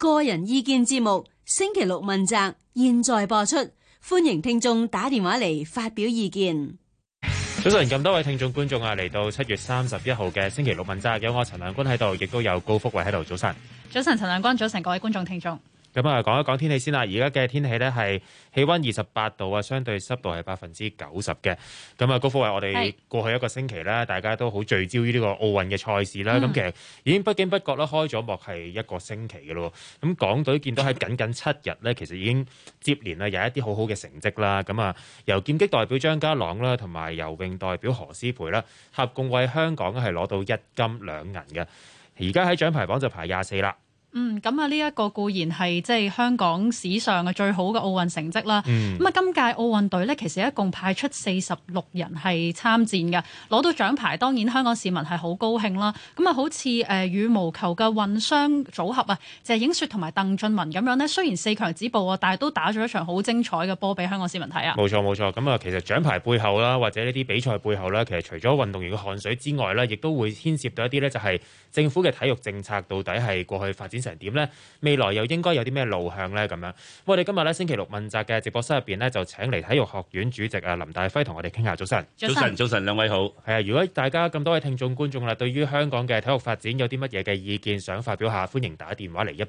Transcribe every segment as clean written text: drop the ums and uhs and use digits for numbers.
個人意見節目星期六問責，現在播出，歡迎聽眾打電話嚟發表意見。 早晨，咁多位聽眾觀眾啊，嚟到7月31號嘅星期六問責，有我陳亮君喺度，亦都有高福慧喺度。早晨， 早晨，陳亮君，早晨，各位觀眾聽眾。 咁啊，講一講天氣先啦。而家嘅天氣呢係氣溫28度啊，相對濕度係90%嘅。咁啊，高福慧，我哋過去一個星期咧，大家都好聚焦於呢個奧運嘅賽事啦。咁其實已經不經不覺啦，開咗幕係一個星期嘅咯。咁港隊見到喺僅7日咧，其實已經接連啊有一啲好好嘅成績啦。咁啊，由劍擊代表張家朗啦，同埋游泳代表何詩蓓啦，合共為香港係攞到1金2銀嘅。而家喺獎牌榜就排24啦。 咁啊，呢一個固然係即係香港史上嘅最好嘅奧運成績啦。咁啊，今屆奧運隊呢，其實一共派出46人係參戰嘅，攞到獎牌，當然香港市民係好高興啦。咁啊，好似羽毛球嘅混雙組合啊，謝影雪同埋鄧俊文咁樣呢，雖然4強止步啊，但係都打咗一場好精彩嘅波俾香港市民睇啊。 冇錯冇錯，咁啊，其實獎牌背後啦，或者呢啲比賽背後啦，其實除咗運動員嘅汗水之外咧，亦都會牽涉到一啲呢，就係政府嘅體育政策到底係過去發展成點呢？未來又應該有啲咩路向呢？咁樣，我哋今日咧星期六問責嘅直播室入邊呢，就請嚟體育學院主席啊林大輝同我哋傾下。早晨， 早晨，兩位好。 係啊，如果大家咁多位聽眾觀眾啦，對於香港嘅體育發展有啲乜嘢嘅意見想發表下，歡迎打電話嚟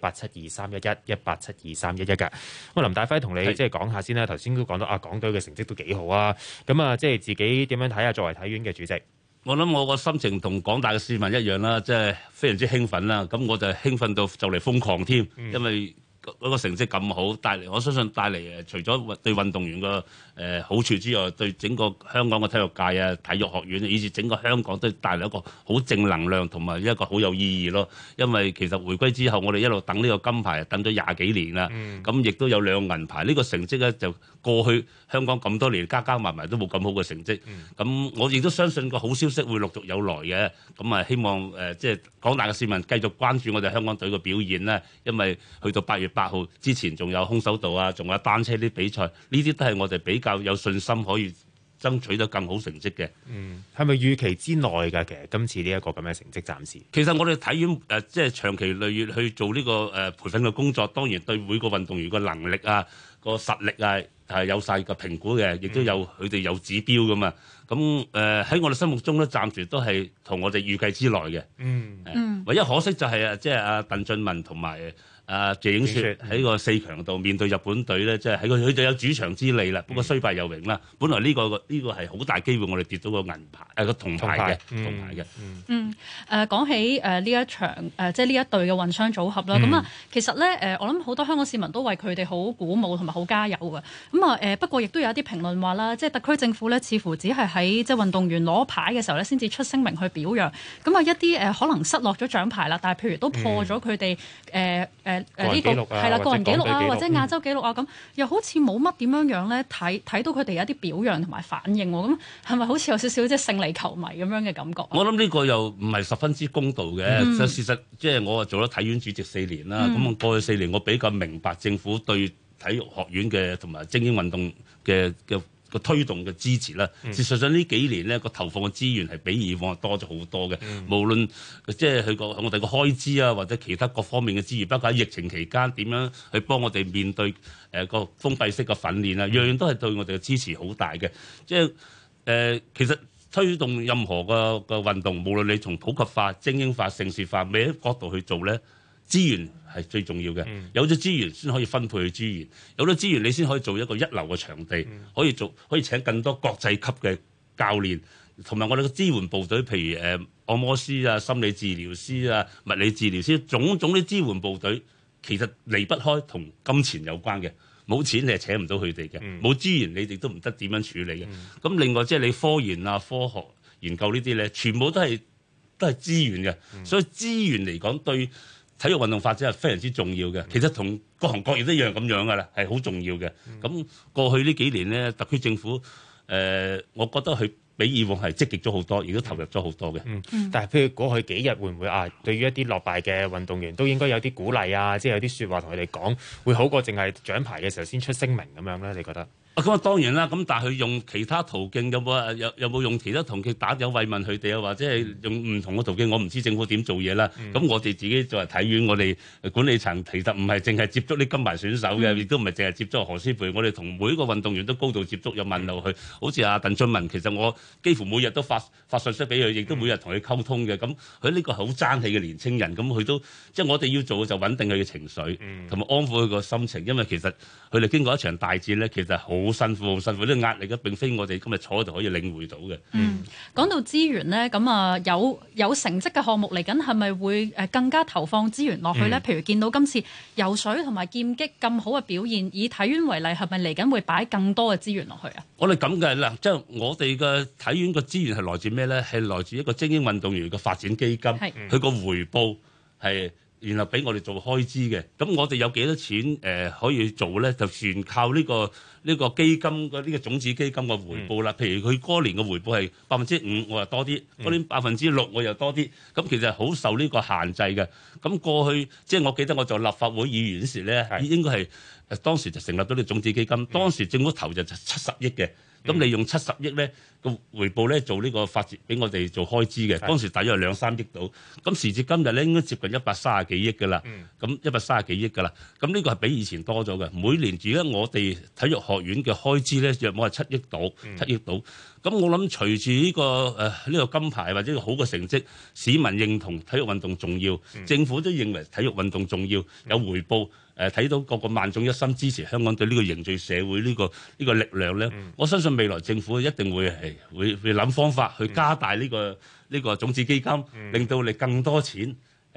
1872311，1872311嘅。咁林大輝同你即係講下先啦。頭先都講到啊，港隊嘅成績都幾好啊。咁啊，即係自己點樣睇下？作為體院嘅主席。 我諗我個心情同廣大嘅市民一樣啦，即係非常之興奮啦。咁我就興奮到就嚟瘋狂添，因為嗰個成績咁好，我相信帶嚟除咗對運動員個好處之外，對整個香港嘅體育界啊、體育學院，以至整個香港都帶嚟一個好正能量同埋一個好有意義咯。因為其實回歸之後，我哋一路等呢個金牌，等咗20幾年啦。咁亦都有2銀牌，呢個成績咧就過去香港咁多年加埋都冇咁好嘅成績。咁我亦都相信個好消息會陸續有來嘅。咁啊，希望即係廣大嘅市民繼續關注我哋香港隊嘅表現啦。因為去到8月8號之前，仲有空手道啊，仲有單車啲比賽，呢啲都係我哋比較有信心可以爭取得更好成績嘅。 係咪預期之內㗎？其實今次呢一個咁嘅成績，暫時其實我哋體院即係長期累月去做呢個培訓嘅工作，當然對每個運動員個能力啊、個實力啊係有晒個評估嘅，亦都有佢哋有指標㗎嘛。咁喺我哋心目中咧，暫時都係同我哋預計之內嘅。唯一可惜就係即係阿鄧俊文同埋謝影雪喺個4強度面對日本隊咧，即係喺佢哋有主場之利啦。不過雖敗猶榮啦。本來呢個係好大機會，我哋跌到個銀牌個銅牌嘅。 講起呢一場即係呢一隊嘅混雙組合啦。咁啊，其實咧我諗好多香港市民都為佢哋好鼓舞同埋好加油嘅。咁啊不過亦都有一啲評論話啦，即係特區政府咧似乎只係喺即係運動員攞牌嘅時候咧，先至出聲明去表揚。咁啊一啲可能失落咗獎牌啦，但係譬如都破咗佢哋呢個係啦個人紀錄啊，或者亞洲紀錄啊，咁又好似冇乜點樣咧睇到佢哋有一啲表揚同埋反應喎。咁係咪好似有少少即係勝利球迷咁樣嘅感覺？ 我諗呢個又唔係十分之公道嘅。事實即係我做咗體院主席4年啦。咁過去4年我比較明白政府對體育學院嘅同埋精英運動嘅個推動嘅支持啦。事實上呢幾年呢個投放嘅資源係比以往多咗好多嘅。無論即係我哋個開支啊，或者其他各方面嘅資源，包括喺疫情期間點樣去幫我哋面對個封閉式嘅訓練啊，樣樣都係對我哋嘅支持好大嘅。即係其實推動任何個運動，無論你從普及化、精英化、盛事化咩角度去做咧，資源係最重要嘅。有咗資源先可以分配資源，有咗資源你先可以做一個一流嘅場地，可以請更多國際級嘅教練，同埋我哋嘅支援部隊，譬如按摩師啊、心理治療師啊、物理治療師，種種啲支援部隊，其實離不開同金錢有關嘅。冇錢你係請唔到佢哋嘅，冇資源你哋都唔得點樣處理嘅。咁另外即係你科研啊、科學研究呢啲咧，全部都係資源嘅。所以資源嚟講對體育運動發展係非常之重要嘅。其實同各行各業都一樣咁樣噶啦，係好重要嘅。咁過去呢幾年咧，特區政府我覺得佢比以往係積極咗好多，亦都投入咗好多嘅。 但係譬如過去幾日會唔會對於一啲落敗嘅運動員都應該有啲鼓勵啊，即係有啲説話同佢哋講，會好過淨係獎牌嘅時候先出聲明咁樣咧？你覺得？ 咁啊當然啦，咁但係佢用其他途徑有冇用其他途徑打電話慰問佢哋啊，或者係用唔同嘅途徑，我唔知政府點做嘢啦。咁我哋自己作為體院，我哋管理層其實唔係淨係接觸啲金牌選手嘅，亦都唔係淨係接觸何詩蓓，我哋同每一個運動員都高度接觸，有問路去。好似阿鄧俊文，其實我幾乎每日都發信息俾佢，亦都每日同佢溝通嘅。咁佢呢個好爭氣嘅年青人，咁佢都即係我哋要做嘅就穩定佢嘅情緒，同埋安撫佢個心情，因為其實佢哋經過一場大戰咧，其實好辛苦，好辛苦，啲壓力嘅並非我哋今日坐喺度可以領會到嘅。 講到資源咧，咁啊有成績嘅項目嚟緊，係咪會更加投放資源落去咧？譬如見到今次游水同埋劍擊咁好嘅表現，以體院為例，係咪嚟緊會擺更多嘅資源落去啊？ 我哋咁嘅啦，即係我哋嘅體院嘅資源係來自咩咧？係來自一個精英運動員嘅發展基金，佢個回報係。然後俾我哋做開支嘅，咁我哋有幾多錢可以做咧？就全靠呢個基金嘅呢個種子基金嘅回報啦。譬如佢嗰年嘅回報係5%，我又多啲；嗰年6%，我又多啲。咁其實好受呢個限制嘅。咁過去即係我記得我做立法會議員時咧，應該係當時就成立咗呢個種子基金。當時政府投就70億嘅。咁你用70億咧個回報咧做呢個發展俾我哋做開支嘅，當時大約係2-3億到。咁時至今日咧應該接近130幾億㗎啦。咁130幾億㗎啦。咁呢個係比以前多咗嘅。每年而家我哋體育學院嘅開支咧約莫係7億到7億到。咁我諗隨住呢個金牌或者好嘅成績，市民認同體育運動重要，政府都認為體育運動重要，有回報。睇到個萬眾一心支持香港對呢個凝聚社會呢個力量咧，我相信未來政府一定會諗方法去加大呢個種子基金，令到你更多錢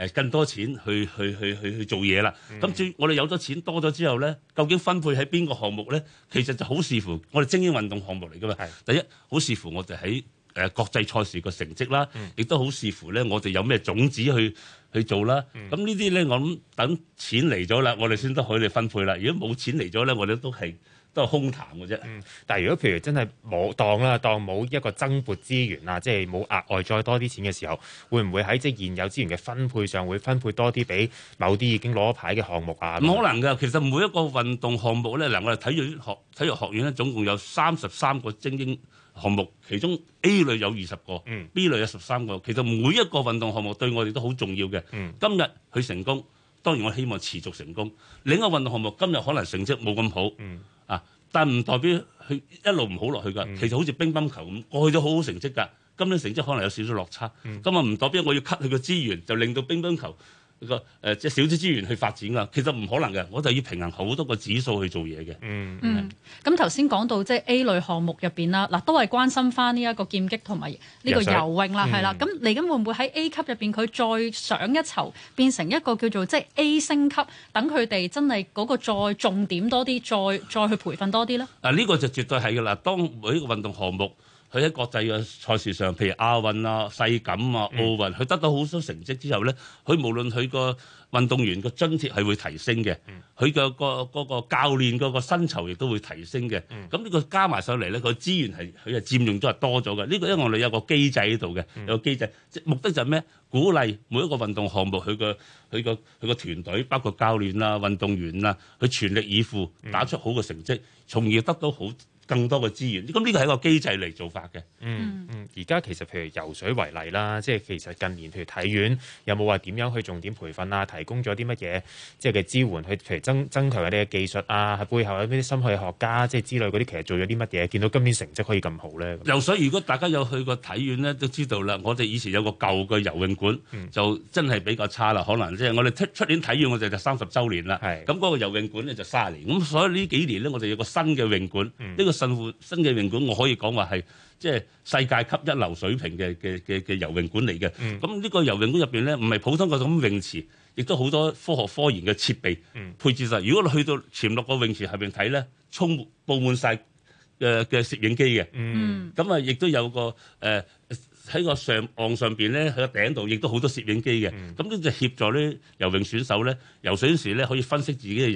去做嘢啦。咁我哋有咗錢多咗之後咧，究竟分配喺邊個項目咧？其實就好視乎我哋精英運動項目嚟㗎嘛。第一，好視乎我哋喺國際賽事個成績啦，亦都好視乎咧我哋有咩種子去做啦。咁呢啲咧，我諗等錢嚟咗啦，我哋先得可以分配啦。如果冇錢嚟咗咧，我哋都係空談嘅啫。 但係如果譬如真係當冇一個增撥資源啊，即係冇額外再多啲錢嘅時候，會唔會喺即係現有資源嘅分配上會分配多啲俾某啲已經攞牌嘅項目啊？ 唔可能㗎。其實每一個運動項目咧，我哋體育學院咧總共有33個精英項目，其中 A 類有20個，B 類有13個。其實每一個運動項目對我哋都好重要嘅。今日佢成功，當然我希望持續成功。另一個運動項目今日可能成績冇咁好，但唔代表佢一路唔好落去㗎。其實好似乒乓球咁，過去都好好成績㗎，今年成績可能有少少落差。咁啊唔代表我要 cut 佢個資源，就令到乒乓球即係少啲資源去發展㗎，其實唔可能嘅，我就要平衡好多個指數去做嘢嘅。 咁頭先講到即係 A 類項目入邊啦，嗱都係關心翻呢一個劍擊同埋呢個游泳啦，係啦。咁嚟緊會唔會喺 A 級入邊佢再上一籌，變成一個叫做即係 A 升級，等佢哋真係嗰個再重點多啲，再去培訓多啲咧？ 呢個就絕對係㗎啦。當每一個運動項目，佢喺國際嘅賽事上，譬如亞運啊、世錦啊、奧運，佢得到好多成績之後咧，佢無論佢個運動員個津貼係會提升嘅，佢嘅嗰個教練嗰個薪酬亦都會提升嘅。咁呢個加埋上嚟咧，個資源佢係佔用咗係多咗嘅。呢個因為我哋有個機制喺度嘅，有個機制，目的就係咩？鼓勵每一個運動項目佢個團隊，包括教練啊、運動員啊，佢全力以赴打出好嘅成績，從而得到更多嘅資源，咁呢個係一個機制嚟做法嘅。 而家其實譬如游水為例啦，即係其實近年譬如體院有冇話點樣去重點培訓啊？提供咗啲乜嘢即係嘅支援去譬如增強佢哋嘅技術啊？喺背後有啲心理學家即係之類嗰啲，其實做咗啲乜嘢？見到今年成績可以咁好咧？ 游水如果大家有去過體院咧，都知道啦。我哋以前有個舊嘅游泳館，就真係比較差啦。可能即係我哋出年體院我哋就30週年啦。咁嗰個游泳館咧就30年。咁所以呢幾年咧，我哋有個新嘅泳館，呢個新嘅泳館，我可以講話係即係世界級一流水平嘅游泳館嚟嘅。咁呢個游泳館入邊咧，唔係普通嗰種泳池，亦都好多科學科研嘅設備配置晒。如果你去到潛落個泳池下邊睇咧，佈滿晒嘅攝影機嘅。咁啊，亦都有個喺個岸上邊咧，喺個頂度亦都好多攝影機嘅。咁呢就協助啲游泳選手咧，游水嗰時咧可以分析自己嘅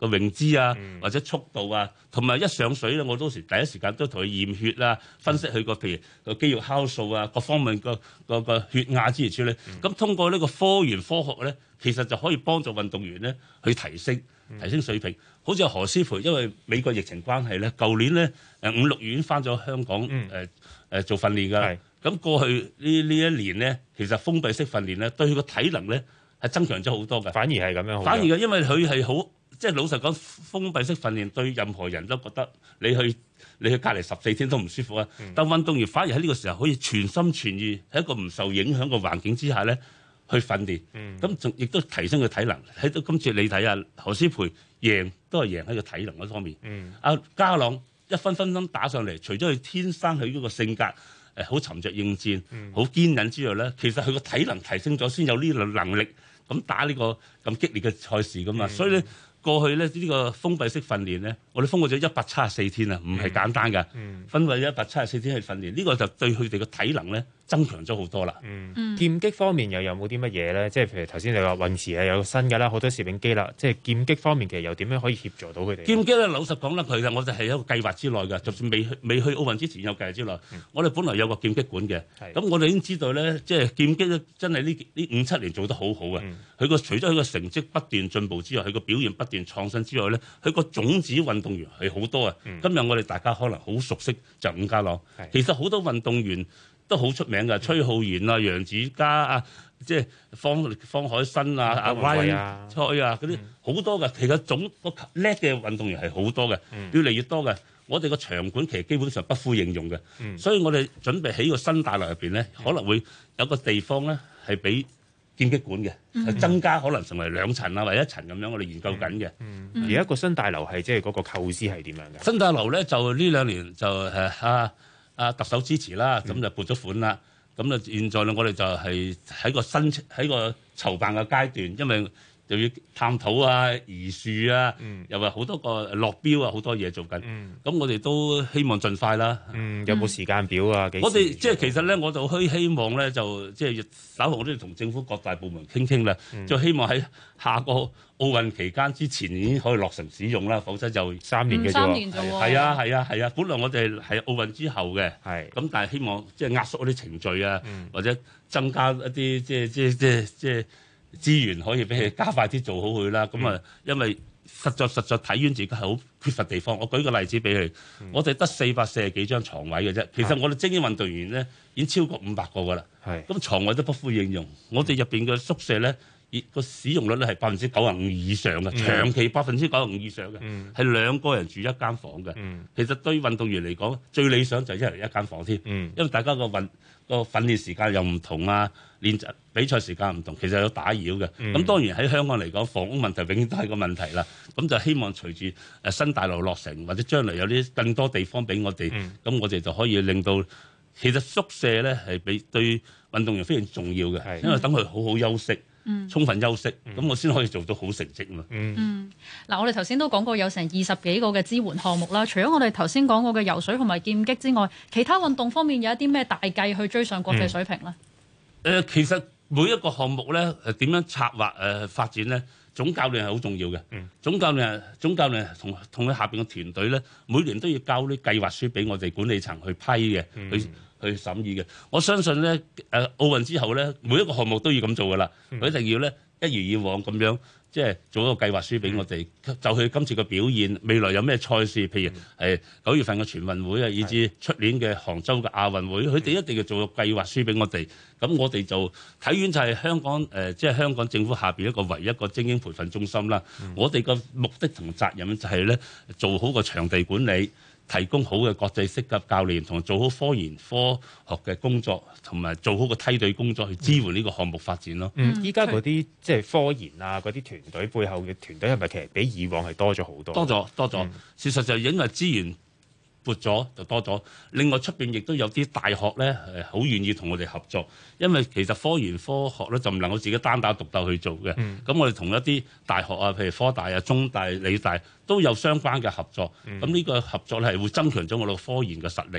個泳姿啊，或者速度啊，同埋一上水咧，我當時第一時間都同佢驗血啊，分析佢個譬如個肌肉酵素啊，各方面個血壓之類處理。咁通過呢個科研科學咧，其實就可以幫助運動員咧去提升水平。好似何詩蓓，因為美國疫情關係咧，舊年咧5、6月已經翻咗香港做訓練㗎啦。咁過去呢一年咧，其實封閉式訓練咧，對佢個體能咧係增強咗好多㗎。 反而係咁樣， 反而嘅，因為佢係好，即係老實講，封閉式訓練對任何人都覺得你去隔離14天都唔舒服啊。但運動員反而喺呢個時候可以全心全意喺一個唔受影響嘅環境之下咧去訓練，咁仲亦都提升佢體能。喺到今次你睇下何詩蓓都係贏喺個體能嗰方面。阿家朗一分打上嚟，除咗佢天生佢嗰個性格好沉着應戰、好堅忍之外咧，其實佢個體能提升咗，先有呢個能力咁打呢個咁激烈嘅賽事噶嘛。所以咧過去咧呢個封閉式訓練咧，我哋封過咗174天啊，唔係簡單㗎。分為174天去訓練，呢個就對佢哋嘅體能咧增強咗好多啦。 劍擊方面又有冇啲乜嘢咧？即係譬如頭先你話泳池係有新㗎啦，好多攝影機啦。即係劍擊方面其實又點樣可以協助到佢哋？ 劍擊咧，老實講啦，其實我哋係一個計劃之內嘅，就算未去奧運之前有計劃之內。我哋本來有個劍擊館嘅，咁我哋已經知道咧，即係劍擊咧真係呢5、7年做得好好啊。佢除咗佢個成績不斷進步之外，佢個表現不斷創新之外咧，佢個種子運動員係好多啊。今日我哋大家可能好熟悉就伍家朗，其實好多運動員都好出名嘅，崔浩然啊、楊子嘉啊，即係方海新啊、阿 Ryan 蔡啊嗰啲好多嘅。其實總個叻嘅運動員係好多嘅，越嚟越多嘅。我哋個場館其實基本上不敷應用嘅，所以我哋準備喺個新大樓入邊咧，可能會有個地方咧係俾劍擊館嘅，增加可能成為2層啊或者1層咁樣，我哋研究緊嘅。 而家個新大樓係即係嗰個構思係點樣嘅？ 新大樓咧就呢2年就特首支持啦，咁就撥咗款啦。咁啊現在咧我哋就係喺個籌辦嘅階段，因為又要探討啊、移樹啊，又話好多個落標啊，好多嘢做緊。咁我哋都希望盡快啦。 有冇時間表啊？ 我哋即係其實咧，我就希望咧，就即係稍後我都要同政府各大部門傾啦，就希望喺下個奧運期間之前已經可以落成使用啦，否則就 3年嘅啫。 3年啫喎。 係啊，本來我哋係奧運之後嘅，咁但係希望即係壓縮一啲程序啊，或者增加一啲即係資源可以俾佢加快啲做好佢啦。咁啊，因為實在體院自己係好缺乏地方。我舉個例子俾佢，我哋得440幾張床位嘅啫。其實我哋精英運動員咧已經超過500個㗎啦。咁床位都不敷應用。我哋入邊嘅宿舍咧，個使用率咧係95%以上嘅，長期95%以上嘅，係2個人住一間房嘅。其實對運動員嚟講，最理想就係1人一間房添。因為大家個訓練時間又唔同啊，練習比賽時間唔同，其實有打擾嘅。咁當然喺香港嚟講，房屋問題永遠都係個問題啦。咁就希望隨住新大樓落成，或者將來有啲更多地方俾我哋，咁我哋就可以令到其實宿舍咧係對運動員非常重要嘅，因為等佢好好休息。充分休息，咁我先可以做到好成績嘛。 嗱，我哋頭先都講過有成20幾個嘅支援項目啦。除咗我哋頭先講過嘅游水同埋劍擊之外，其他運動方面有一啲咩大計去追上國際水平咧？ 其實每一個項目咧，點樣策劃發展咧，總教練係好重要嘅。總教練同佢下邊嘅團隊咧，每年都要交啲計劃書俾我哋管理層去批嘅，去審議嘅。我相信咧，奧運之後咧，每一個項目都要咁做噶啦。佢一定要咧一如以往咁樣，即係做一個計劃書俾我哋，就佢今次嘅表現，未來有咩賽事，譬如係9月份嘅全運會啊，以至出年嘅杭州嘅亞運會，佢哋一定要做個計劃書俾我哋。咁我哋就體院就係香港即係香港政府下邊一個唯一一個精英培訓中心啦。我哋嘅目的同責任就係咧做好個場地管理，提供好嘅國際式嘅教練，同做好科研科學嘅工作，同埋做好個梯隊工作去支援呢個項目發展咯。 依家嗰啲即係科研啊，嗰啲團隊背後嘅團隊係咪其實比以往係多咗好多？ 多咗。事實就因為資源撥咗就多咗。另外出邊亦都有啲大學咧好願意同我哋合作，因為其實科研科學咧就唔能夠自己單打獨鬥去做嘅。咁我哋同一啲大學啊，譬如科大啊、中大、理大都有相關嘅合作。咁呢個合作咧係會增強咗我哋科研嘅實力。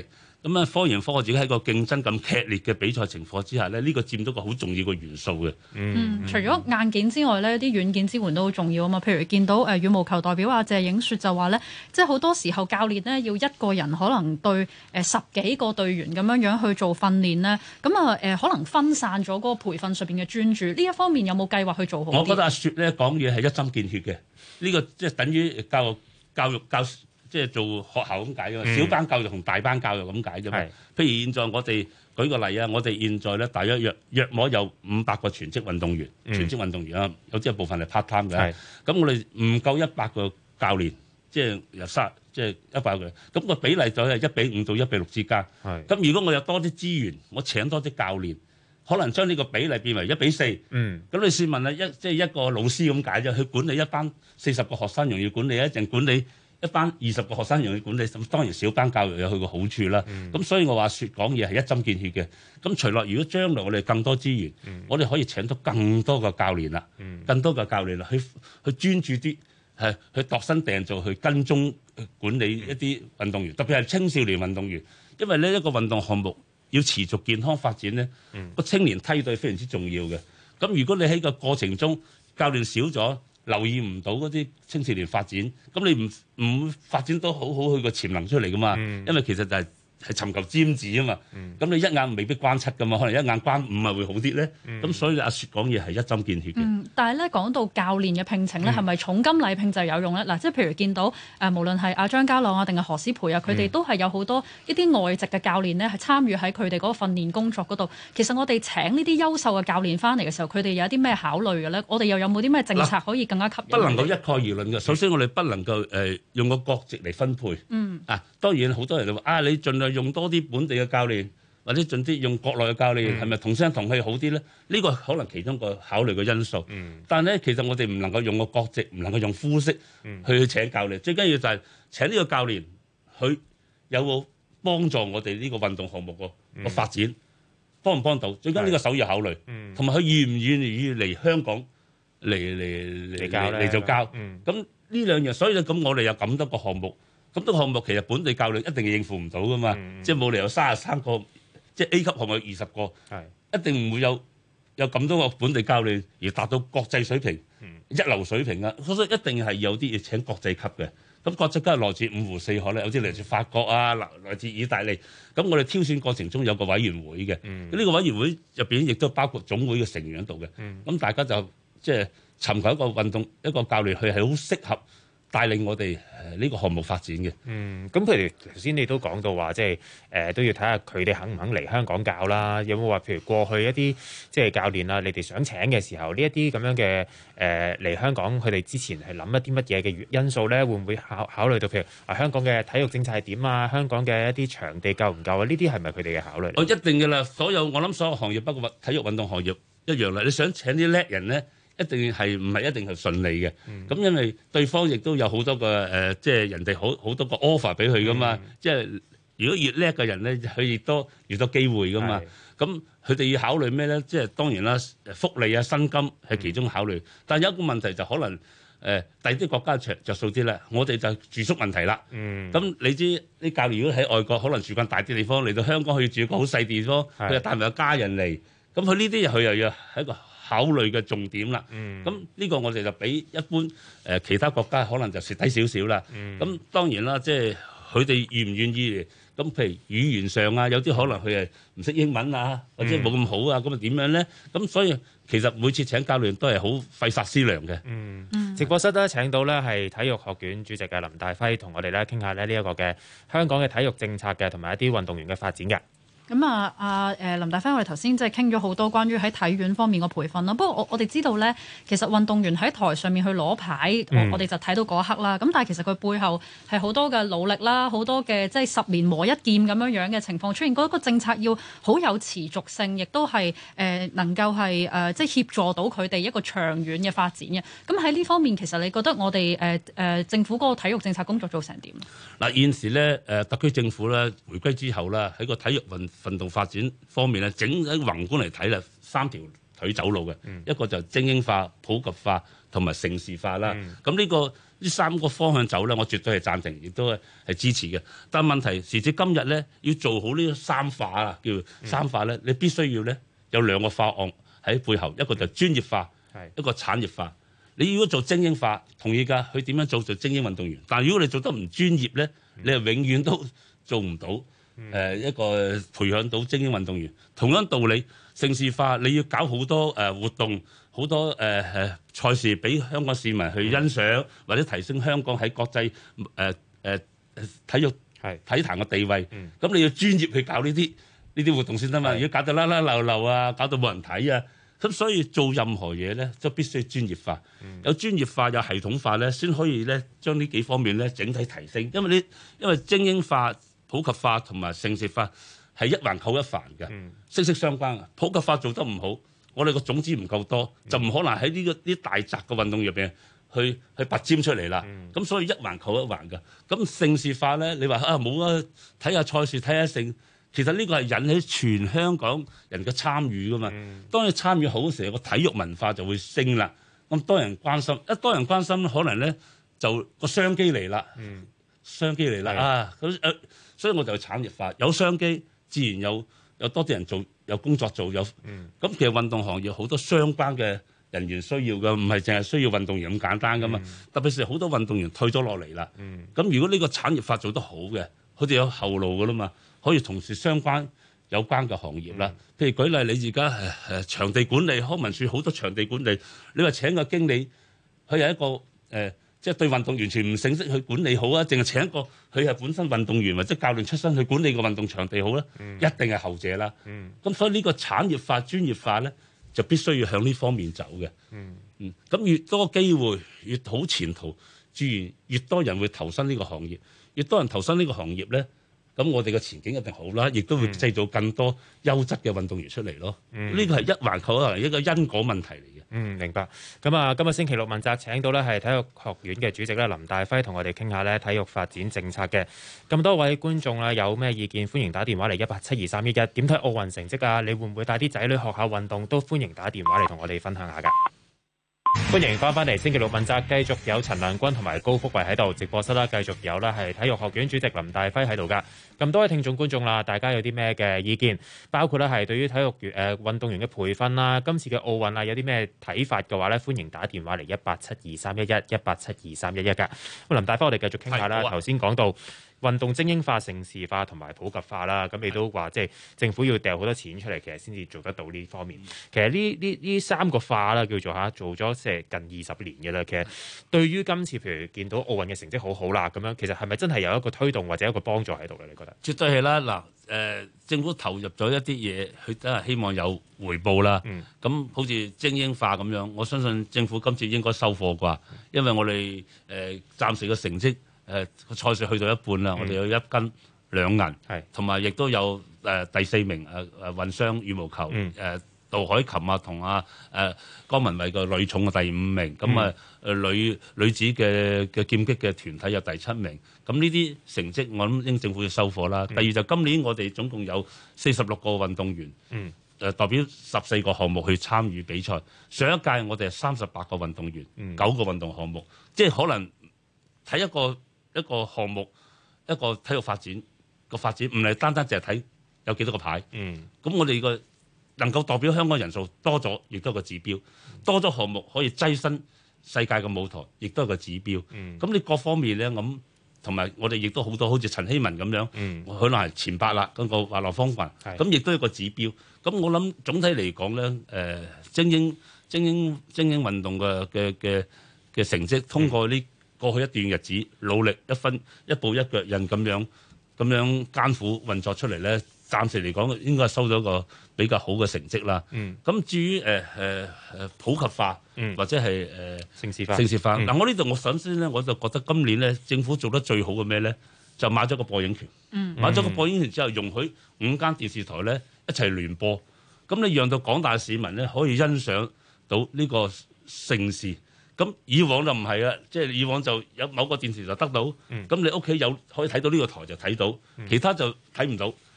咁啊，科研科學自己喺個競爭咁劇烈嘅比賽情況之下咧，呢個佔到個好重要嘅元素嘅。 除咗硬件之外咧，啲軟件支援都好重要啊嘛。譬如見到羽毛球代表阿謝影雪就話咧，即係好多時候教練呢要一個人可能對10幾個隊員咁樣去做訓練咧，咁啊可能分散咗嗰個培訓上邊嘅專注。呢一方面有冇計劃去做好啲？ 我覺得阿雪咧講嘢係一針見血嘅，呢個即係等於教育即係做學校咁解嘅嘛，小班教育同大班教育咁解啫嘛。譬如現在我哋舉個例啊，我哋現在咧大約約摸有500個全職運動員，全職運動員啊，有啲部分係 part time 嘅。咁我哋唔夠100個教練，即係即係100個，咁個比例就係1:5到1:6之間。咁如果我有多啲資源，我請多啲教練，可能將呢個比例變為1:4。咁你試問啊，即係一個老師咁解啫，去管理一班40個學生容易管理，一定管理一班20個學生容易管理，咁當然小班教育有佢個好處啦。咁所以我話説講嘢係一針見血嘅。咁除落如果將來我哋更多資源，我哋可以請到更多個教練啦，更多嘅教練啦，去專注啲係去度身訂造去跟蹤管理一啲運動員，特別係青少年運動員，因為呢一個運動項目要持續健康發展咧，個青年梯隊非常之重要嘅。咁如果你喺個過程中教練少咗，留意唔到嗰啲青少年發展，咁你唔會發展到好好佢個潛能出嚟噶嘛？因為其實就係尋求尖子啊嘛。咁你一眼未必關7噶嘛，可能一眼關5啊會好啲咧。咁所以阿雪講嘢係一針見血嘅。 但係咧講到教練嘅聘請咧，係咪重金禮聘就有用咧？嗱，即係譬如見到無論係阿張家朗啊，定係何詩蓓啊，佢哋都係有好多一啲外籍嘅教練咧，係參與喺佢哋嗰個訓練工作嗰度。其實我哋請呢啲優秀嘅教練翻嚟嘅時候，佢哋有啲咩考慮嘅咧？我哋又有冇啲咩政策可以更加吸引？ 不能夠一概而論嘅。首先我哋不能夠用個國籍嚟分配。當然好多人就話你盡量用多啲本地嘅教練，或者盡啲用國內嘅教練，係咪同聲同氣好啲咧？呢個可能其中個考慮嘅因素。但係咧，其實我哋唔能夠用個國籍，唔能夠用膚色去請教練。最緊要就係請呢個教練，佢有冇幫助我哋呢個運動項目個發展，幫唔幫到？最緊要呢個首要考慮，同埋佢願唔願意嚟香港嚟做教。咁呢兩樣，所以咁我哋有咁多個項目。咁多個項目其實本地教練一定應付唔到噶嘛，即係冇理由33個，即係 A 級項目有20個，一定唔會有咁多個本地教練而達到國際水平、一流水平啊！所以一定係有啲要請國際級嘅。咁國際級係來自五湖四海咧，有啲嚟自法國啊，來自意大利。咁我哋挑選過程中有個委員會嘅，呢個委員會入邊亦都包括總會嘅成員喺度嘅。咁大家就即係尋求一個運動一個教練，佢係好適合帶領我哋呢個項目發展嘅。 咁譬如頭先你都講到話，即係都要睇下佢哋肯唔肯嚟香港教啦。有冇話譬如過去一啲即係教練啊，你哋想請嘅時候，呢一啲咁樣嘅嚟香港，佢哋之前係諗一啲乜嘢嘅因素咧？會唔會考慮到譬如香港嘅體育政策係點啊？香港嘅一啲場地夠唔夠啊？呢啲係咪佢哋嘅考慮？ 一定嘅啦，我諗所有行業，包括體育運動行業一樣啦。你想請啲叻人咧？一定係唔係一定係順利嘅？咁因為對方亦都有好多個即係人哋好多個 offer 俾佢噶嘛。即係如果越叻嘅人咧，佢越多機會噶嘛。咁佢哋要考慮咩咧？即係當然啦，福利啊、薪金係其中考慮。但係有一個問題就可能第啲國家着數啲啦，我哋就住宿問題啦。咁你知啲教練如果喺外國，可能住慣大啲地方，嚟到香港佢要住一個好細地方，佢又帶埋個家人嚟，咁佢呢啲佢又要係一個考慮嘅重點啦。咁呢個我哋就比一般其他國家可能就蝕低少少啦。咁當然啦，即係佢哋願唔願意？咁譬如語言上啊，有啲可能佢係唔識英文啊，或者冇咁好啊，咁啊點樣咧？咁所以其實每次請教練都係好費煞思量嘅。 直播室咧請到咧係體育學院主席嘅林大輝，同我哋咧傾下咧呢一個嘅香港嘅體育政策嘅，同埋一啲運動員嘅發展嘅。 咁林大輝，我哋頭先即係傾咗好多關於喺體院方面嘅培訓啦。不過我哋知道咧，其實運動員喺台上面去攞牌，我哋就睇到嗰一刻啦。咁但係其實佢背後係好多嘅努力啦，好多嘅即係10年磨一劍咁樣嘅情況出現。嗰個政策要好有持續性，亦都係能夠係即係協助到佢哋一個長遠嘅發展嘅。咁喺呢方面，其實你覺得我哋政府嗰個體育政策工作做成點？ 嗱，現時咧特區政府咧回歸之後啦，喺個體育運動發展方面咧，整體宏觀嚟睇啦，3條腿走路嘅，一個就精英化、普及化同埋城市化啦。咁呢三個方向走咧，我絕對係贊成，亦都係支持嘅。但係問題時至今日咧，要做好呢個三化啊，叫三化咧，你必須要咧有兩個化案喺背後，一個就專業化，一個產業化。你如果做精英化，同意㗎，佢點樣做精英運動員？但係如果你做得唔專業咧，你係永遠都做唔到一個培養到精英運動員。同樣道理，城市化你要搞好多活動，好多賽事俾香港市民去欣賞，或者提升香港喺國際體育體壇嘅地位。咁你要專業去搞呢啲活動先得嘛。如果搞到甩甩漏漏啊，搞到冇人睇啊，咁所以做任何嘢咧，都必須專業化。有專業化有系統化咧，先可以咧將呢幾方面咧整體提升。因為精英化、普及化同埋城市化係一環扣一環嘅，息息相關嘅。普及化做得唔好，我哋個種子唔夠多，就唔可能喺呢啲大澤嘅運動入邊去拔尖出嚟啦。咁所以一環扣一環嘅。咁城市化咧，你話冇啊，睇下賽事睇下勝。其實呢個係引起全香港人嘅參與噶嘛。當你參與好嘅時候，個體育文化就會升啦。咁多人關心，一多人關心，可能咧就個商機嚟啦。商機嚟啦所以我就產業化，有商機，自然有多啲人做，有工作做，咁其實運動行業好多相關嘅人員需要嘅，唔係淨係需要運動員咁簡單噶嘛。特別是好多運動員退咗落嚟啦。咁如果呢個產業化做得好嘅，佢哋有後路噶啦嘛。可以從事有關嘅行業啦，譬如舉例，你而家場地管理，康文署好多場地管理，你話請個經理，佢係一個即係對運動完全唔認識去管理好啊，淨係請一個佢係本身運動員或者教練出身去管理個運動場地好咧，一定係後者啦。咁所以呢個產業化、專業化咧，就必須要向呢方面走嘅。咁越多機會，越好前途，自然越多人會投身呢個行業，越多人投身呢個行業咧。咁我哋嘅前景一定好啦，亦都會製造更多優質嘅運動員出嚟咯。呢個係一環扣一環，一個因果問題嚟嘅。 明白。咁啊，今日星期六問責請到咧係體育學院嘅主席咧林大輝，同我哋傾下咧體育發展政策嘅。咁多位觀眾啦，有咩意見歡迎打電話嚟1872311。點睇奧運成績啊？你會唔會帶啲仔女學下運動？都歡迎打電話嚟同我哋分享下㗎。歡迎翻嚟星期六問責，繼續有陳亮君同埋高福慧喺度直播室啦，繼續有啦係體育學院主席林大輝喺度噶。咁多位聽眾觀眾啦，大家有啲咩嘅意見？包括咧係對於體育運動員嘅培訓啦，今次嘅奧運啊有啲咩睇法嘅話咧，歡迎打電話嚟1872311噶。咁林大輝，我哋繼續傾下啦。頭先講到運動精英化、城市化同埋普及化啦，咁你都話即係政府要掉好多錢出嚟，其實先至做得到呢方面。其實呢三個化啦，叫做做咗即係近20年嘅啦。其實對於今次譬如見到奧運嘅成績好好啦，咁樣其實係咪真係有一個推動或者一個幫助喺度咧？你覺得？ 絕對係啦。嗱，政府投入咗一啲嘢，佢都係希望有回報啦。咁好似精英化咁樣，我相信政府今次應該收貨啩，因為我哋暫時嘅成績。個賽事去到一半啦，我哋有1金2銀，同埋亦都有第4名混雙羽毛球，杜海琴啊同江文蔚個女重嘅第5名，咁女子嘅劍擊嘅團體有第7名，咁呢啲成績我諗應政府要收貨啦。第二就今年我哋總共有46個運動員，代表14個項目去參與比賽。上一屆我哋係38個運動員，9個運動項目，即係可能睇一個項目，一個體育發展個發展，唔係單單淨係睇有幾多個牌。咁我哋個能夠代表香港人數多咗，亦都係個指標。多咗項目可以躋身世界嘅舞台，亦都係個指標。咁你各方面咧，咁同埋我哋亦都好多，好似陳希文咁樣，可能係前8啦，嗰個滑浪風帆，咁亦都係個指標。咁我諗總體嚟講咧，精英運動嘅成績，通過呢過去一段日子努力一步一腳印咁樣艱苦運作出嚟咧，暫時嚟講應該係收咗個比較好嘅成績啦。咁至於普及化或者係城市化， 嗱，我呢度我首先咧，我就覺得今年咧政府做得最好嘅咩咧，就買咗個播映權。買咗個播映權之後，容許5間電視台咧一齊聯播，咁你讓到廣大市民咧可以欣賞到呢個盛事。咁以往就唔係啊，即係以往就有某個電視就得到，咁你屋企有可以睇到呢個台就睇到，其他就睇唔到。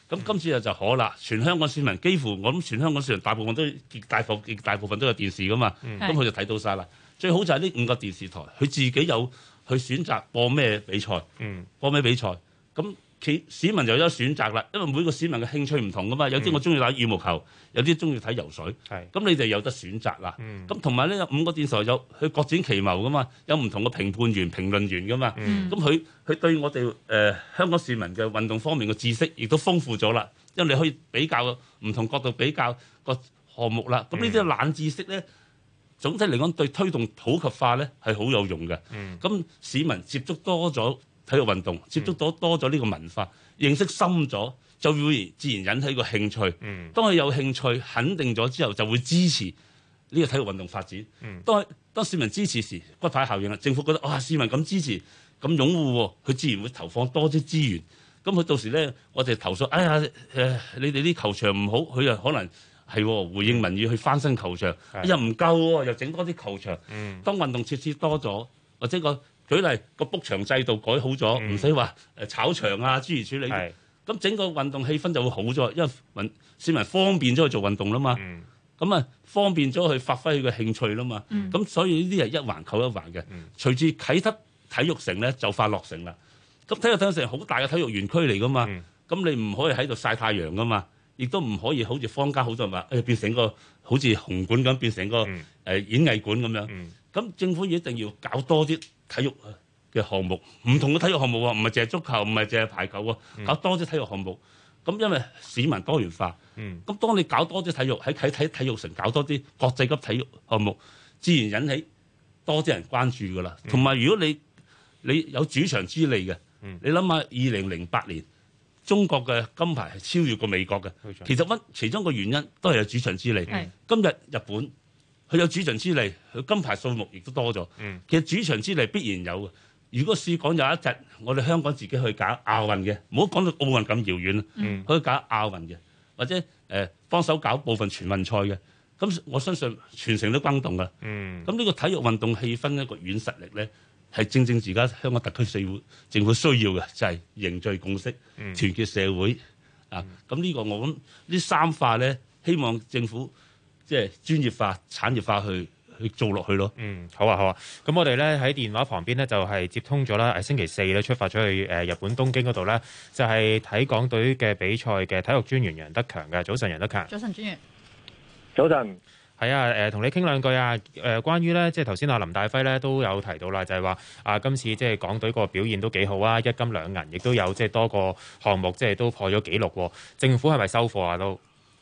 咁今次就可啦，全香港市民幾乎我諗全香港市民大部分極大部分都有電視噶嘛，咁佢就睇到晒啦。最好就係呢5個電視台，佢自己有去選擇播咩比賽，播咩比賽，咁市民就有選擇啦。因為每個市民嘅興趣唔同噶嘛，有啲我中意打羽毛球，有啲中意睇游水，咁你哋有得選擇啦。咁同埋呢，有5個電視台有佢各展其謀噶嘛，有唔同嘅評判員、評論員噶嘛，咁佢對我哋香港市民嘅運動方面嘅知識亦都豐富咗啦。因為你可以比較唔同角度比較個項目啦。咁呢啲冷知識咧，總體嚟講對推動普及化咧係好有用嘅。咁市民接觸多咗體育運動，接觸到多咗呢個文化，認識深咗，就會自然引起個興趣。當佢有興趣，肯定咗之後，就會支持呢個體育運動發展。當市民支持時，骨牌效應啦，政府覺得哇，市民咁支持、咁擁護喎，佢自然會投放多啲資源。咁佢到時咧，我哋投訴，哎呀你哋啲球場唔好，佢又可能係回應民意去翻新球場，又唔夠喎，又整多啲球場。當運動設施多咗，或者舉例個 book 場制度改好咗，唔使話炒場啊諸如此類，咁整個運動氣氛就會好咗，因為市民方便咗去做運動啦嘛。咁方便咗去發揮佢嘅興趣啦嘛。咁所以呢啲係一環扣一環嘅。隨住啟德體育城咧就快落成啦。咁體育城好大嘅體育園區嚟噶嘛，咁你唔可以喺度曬太陽噶嘛，亦都唔可以好似坊間好多人話變成個好似紅館咁，變成個演藝館咁樣。咁政府一定要搞多啲體育嘅項目，唔同嘅體育項目喎，唔係淨係足球，唔係淨係排球喎，搞多啲體育項目。咁因為市民多元化，咁當你搞多啲體育喺體育城搞多啲國際級體育項目，自然引起多啲人關注噶啦。同埋如果你有主場之利嘅。你諗下，2008年中國嘅金牌係超越過美國嘅，其中個原因都係有主場之利。今日日本佢有主場之利，佢金牌數目亦都多咗。其實主場之利必然有嘅。如果試講有一日我哋香港自己去搞亞運嘅，唔好講到奧運咁遙遠，可以搞亞運嘅，或者幫手搞部分全運賽嘅，咁我相信全城都轟動㗎。咁呢個體育運動氣氛一個軟實力咧。係正而家香港特區政府需要嘅就係凝聚共識、團結社會啊！咁呢個我諗呢3化咧，希望政府即係專業化、產業化去做落去咯。 好啊。咁我哋咧喺電話旁邊咧就係接通咗啦。星期4咧出發咗去日本東京嗰度咧，就係睇港隊嘅比賽嘅體育專員楊德強嘅。早晨，楊德強。 早晨，專員。 早晨。 係啊，同你傾兩句啊。關於咧，即係頭先阿林大輝咧都有提到啦，就係話今次即係港隊個表現都幾好啊，1金2銀，亦都有即係多個項目即係都破咗紀錄喎。政府係咪收貨啊？都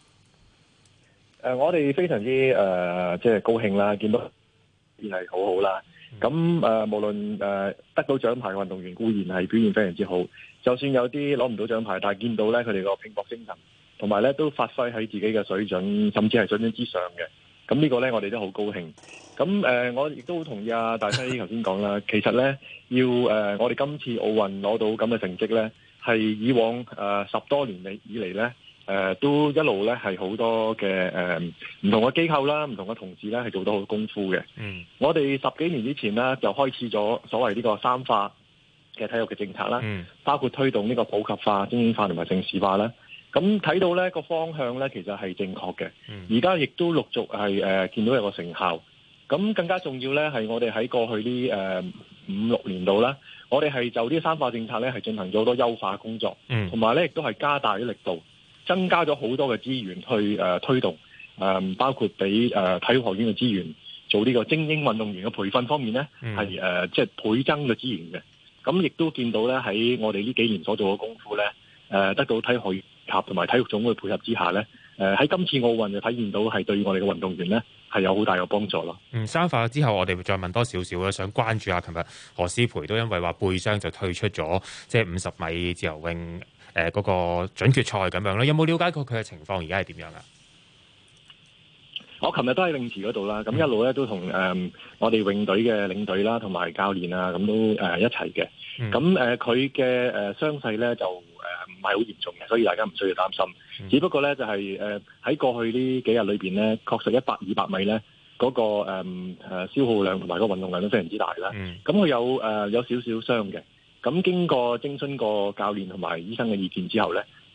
我哋非常之即係高興啦，見到表現係好好啦。咁無論得到獎牌嘅運動員固然係表現非常之好，就算有啲攞唔到獎牌，但係見到咧佢哋個拼搏精神，同埋咧都發揮喺自己嘅水準，甚至係水準之上嘅。咁呢個咧，我哋都好高興。咁我亦都好同意阿大輝頭先講啦。其實咧，要我哋今次奧運攞到咁嘅成績咧，係以往10多年以嚟咧，都一路咧係好多嘅唔同嘅機構啦，唔同嘅同事咧係做到好功夫嘅。我哋10幾年之前呢，就開始咗所謂呢個3化嘅體育嘅政策啦，包括推動呢個普及化、精英化同埋城市化啦。咁睇到呢個方向呢，其實係正確嘅。而家亦都陸續係見到有個成效。咁更加重要呢，係我哋喺過去呢5、6年度啦，我哋係就呢3化政策呢，係進行咗好多優化工作，同埋呢亦都係加大啲力度，增加咗好多嘅資源去推動，包括俾體育學院嘅資源做呢個精英運動員嘅培訓方面呢，係即係倍增嘅資源嘅。咁亦都見到呢，喺我哋呢幾年所做嘅功夫呢，得到體育學院同埋體育總會配合之下咧，喺今次奧運就體現到係對我哋嘅運動員咧係有好大嘅幫助咯。 3化之後，我哋會再問多少少啦，想關注下琴日何詩蓓都因為話背傷就退出咗，即係50米自由泳嗰個準決賽咁樣啦。有冇了解過佢嘅情況而家係點樣啊？ 我琴日都喺泳池嗰度啦，咁一路咧都同我哋泳隊嘅領隊啦，同埋教練啊，咁都一齊嘅。咁佢嘅傷勢咧就唔係好嚴重嘅，所以大家唔需要擔心。只不過咧就係喺過去呢幾日裏邊咧，確實100、200米咧嗰個消耗量同埋個運動量都非常之大啦。咁佢有少少傷嘅。咁經過徵詢過教練同埋醫生嘅意見之後咧，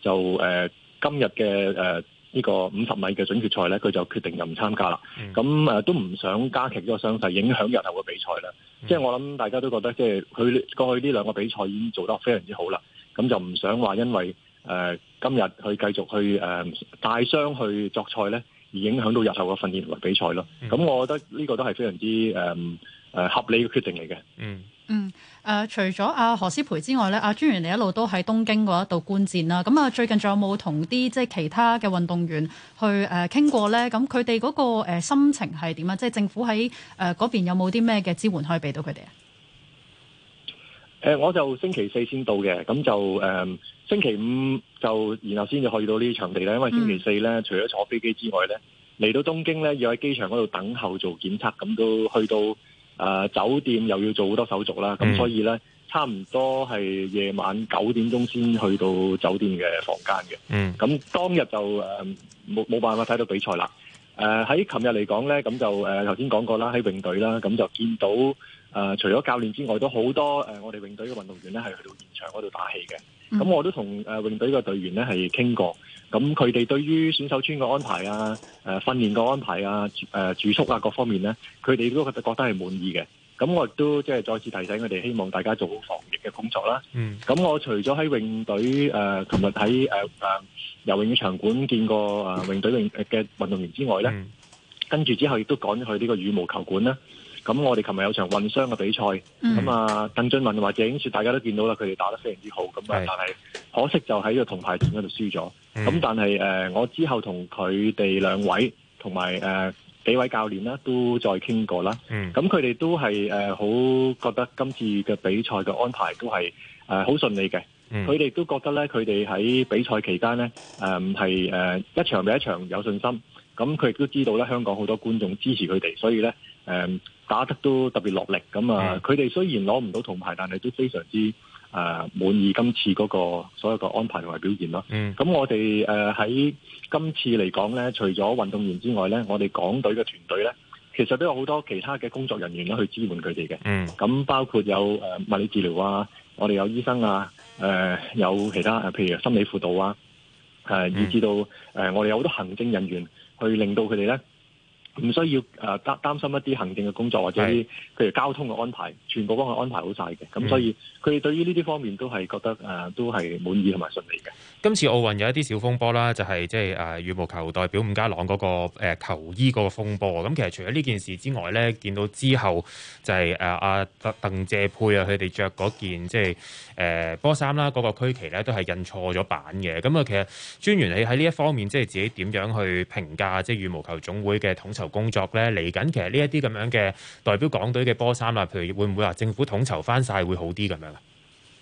就今日嘅呢個50米嘅準決賽咧，佢就決定就唔參加啦。咁都唔想加劇咗個傷勢，影響日後嘅比賽啦。即係我諗大家都覺得，即係佢過去呢兩個比賽已經做得非常之好啦。咁就唔想話因為今日去繼續去帶傷去作賽咧，而影響到日後嘅訓練同埋比賽咯。咁我覺得呢個都係非常之合理嘅決定嚟嘅。 除咗阿何詩蓓之外咧，阿專員你一路都喺東京嗰一度觀戰啦。咁最近仲有冇同啲即係其他嘅運動員去傾過咧？咁佢哋嗰個心情係點啊？即係政府喺嗰邊有冇啲咩嘅支援可以俾到佢哋啊？ 我就星期4先到嘅，咁就星期5就然後先至去到呢啲場地咧。因為星期4咧，除咗坐飛機之外咧，嚟到東京咧要喺機場嗰度等候做檢測，咁都去到酒店又要做好多手續啦。咁所以咧，差唔多係夜晚9點鐘先去到酒店嘅房間嘅。咁當日就冇辦法睇到比賽啦。喺琴日嚟講咧，咁就頭先講過啦，喺泳隊啦，咁就見到除咗教練之外，都好多我哋泳隊嘅運動員咧係去到現場嗰度打氣嘅。咁我都同泳隊嘅隊員咧係傾過，咁佢哋對於選手村嘅安排啊、訓練嘅安排啊、住宿啊各方面咧，佢哋都覺得係滿意嘅。咁我亦都即係再次提醒佢哋，希望大家做好防疫嘅工作啦。咁我除咗喺泳隊琴日喺游泳嘅場館見過泳隊嘅運動員之外咧，跟住之後亦都趕咗去呢個羽毛球館啦。咁我哋琴日有場混雙嘅比賽，咁鄧俊文或者謝影雪大家都見到啦，佢哋打得非常之好。咁但係可惜就喺個銅牌戰嗰度輸咗。咁但係我之後同佢哋兩位同埋幾位教練啦，都再傾過啦。咁佢哋都係好覺得今次嘅比賽嘅安排都係好順利嘅。佢哋都覺得咧，佢哋喺比賽期間咧係一場比一場有信心。咁佢亦都知道咧，香港好多觀眾支持佢哋，所以咧打得都特別落力。咁佢哋雖然攞唔到銅牌，但係都非常之滿意今次嗰個所有嘅安排同埋表現咯。咁我哋喺今次嚟講咧，除咗運動員之外咧，我哋港隊嘅團隊咧，其實都有好多其他嘅工作人員咧去支援佢哋嘅。咁包括有物理治療啊，我哋有醫生啊，有其他譬如心理輔導啊，以至到我哋有好多行政人員去令到佢哋咧唔需要擔心一啲行政嘅工作或者啲譬如交通嘅安排，全部幫佢安排好晒嘅。咁所以佢哋對於呢啲方面都係覺得都係滿意同埋順利嘅。 今次奧運有一啲小風波啦，就係即係羽毛球代表伍家朗嗰個球衣嗰個風波。咁其實除咗呢件事之外咧，見到之後就係阿鄧謝佩啊，佢哋着嗰件即係波衫啦，嗰個區旗咧都係印錯咗版嘅。咁啊，其實專員你喺呢一方面即係自己點樣去評價即係羽毛球總會嘅統籌工作咧？嚟緊其實呢一啲咁樣嘅代表港隊嘅波衫啊，譬如會唔會話政府統籌翻晒會好啲咁樣啊？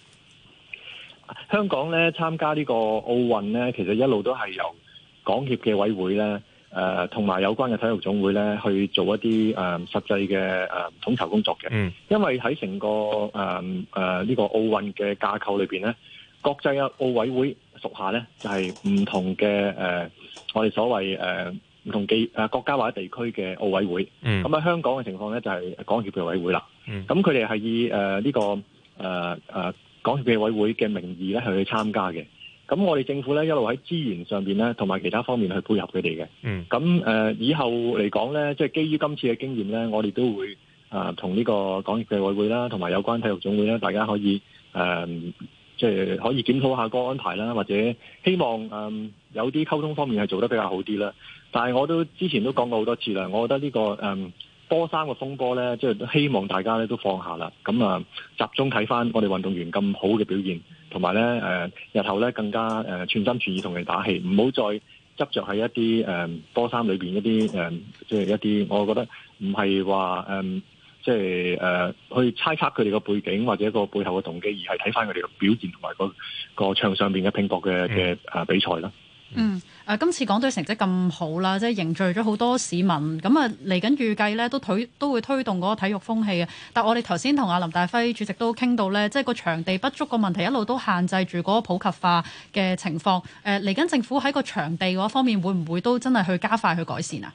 香港咧參加呢個奧運咧，其實一路都係由港協嘅委會咧，同埋有關嘅體育總會咧去做一啲實際嘅統籌工作嘅。因為喺成個呢個奧運嘅架構裏邊咧，國際嘅奧委會屬下咧就係唔同嘅我哋所謂唔同國家或者地區嘅奧委會。咁喺香港嘅情況咧就係港協嘅委會啦。咁佢哋係以呢個港協嘅委會嘅名義咧去參加嘅。咁我哋政府咧一路喺資源上邊咧同埋其他方面去配合佢哋嘅。咁以後嚟講咧，即係基於今次嘅經驗咧，我哋都會同呢個港協嘅委會啦，同埋有關體育總會啦，大家可以即係可以檢討下個安排啦，或者希望有啲溝通方面係做得比較好啲啦。但係我都之前都講過好多次啦，我覺得呢個波衫嘅風波咧，即係都希望大家咧都放下啦。咁集中睇翻我哋運動員咁好嘅表現，同埋咧日後咧更加全心全意同佢哋打氣，唔好再執着喺一啲波衫裏邊一啲即係一啲我覺得唔係話即係去猜測佢哋個背景或者個背後嘅動機，而係睇翻佢哋嘅表現同埋個場上邊嘅拼搏嘅比賽啦。 今次港隊成績咁好啦，即係凝聚咗好多市民，咁嚟緊預計咧都會推動嗰個體育風氣嘅。但我哋頭先同阿林大輝主席都傾到咧，即係個場地不足個問題一路都限制住嗰個普及化嘅情況。嚟緊政府喺個場地嗰方面會唔會都真係去加快去改善啊？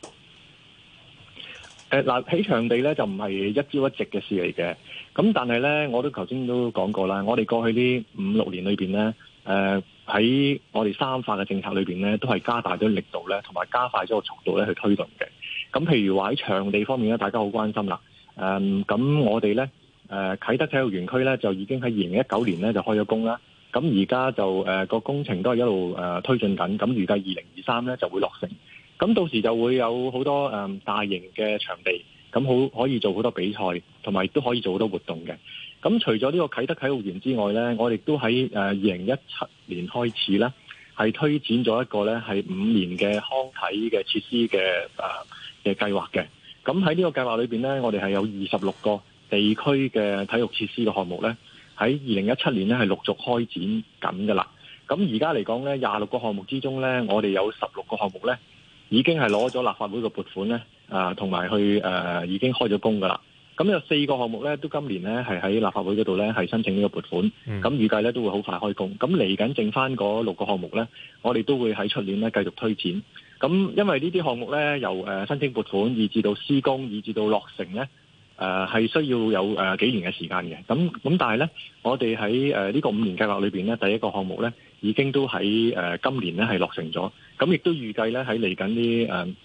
起場地咧就唔係一朝一夕嘅事嚟嘅。咁但係咧，我都頭先都講過啦，我哋過去呢5-6年裏邊咧， 喺我哋三化嘅政策裏邊咧，都係加大咗力度咧，同埋加快咗個速度咧去推動嘅。咁譬如話喺場地方面咧，大家好關心啦。咁我哋咧啟德體育園區咧就已經喺2019年咧就開咗工啦。咁而家就個工程都係一路推進緊，咁預計2023咧就會落成。咁到時就會有好多大型嘅場地，咁可以做好多比賽，同埋亦都可以做好多活動嘅。咁除咗呢個啟德體育園之外咧，我哋都喺2017年開始咧，係推展咗一個咧係5年嘅康體嘅設施嘅計劃嘅。咁喺呢個計劃裏邊咧，我哋係有26個地區嘅體育設施嘅項目咧，喺2017年咧係陸續開展緊㗎啦。咁而家嚟講咧，26個項目之中咧，我哋有16個項目咧，已經係攞咗立法會嘅撥款咧，同埋去已經開咗工㗎啦。咁有4個項目咧，都今年咧係喺立法會嗰度咧係申請呢個撥款。咁預計咧都會好快開工。咁嚟緊剩翻嗰6個項目咧，我哋都會喺出年咧繼續推展。咁因為呢啲項目咧，由申請撥款，以至到施工，以至到落成咧，係需要有幾年嘅時間嘅。咁但係咧，我哋喺呢個5年計劃裏邊咧，第一個項目咧已經都喺今年咧係落成咗。咁亦都預計咧喺嚟緊呢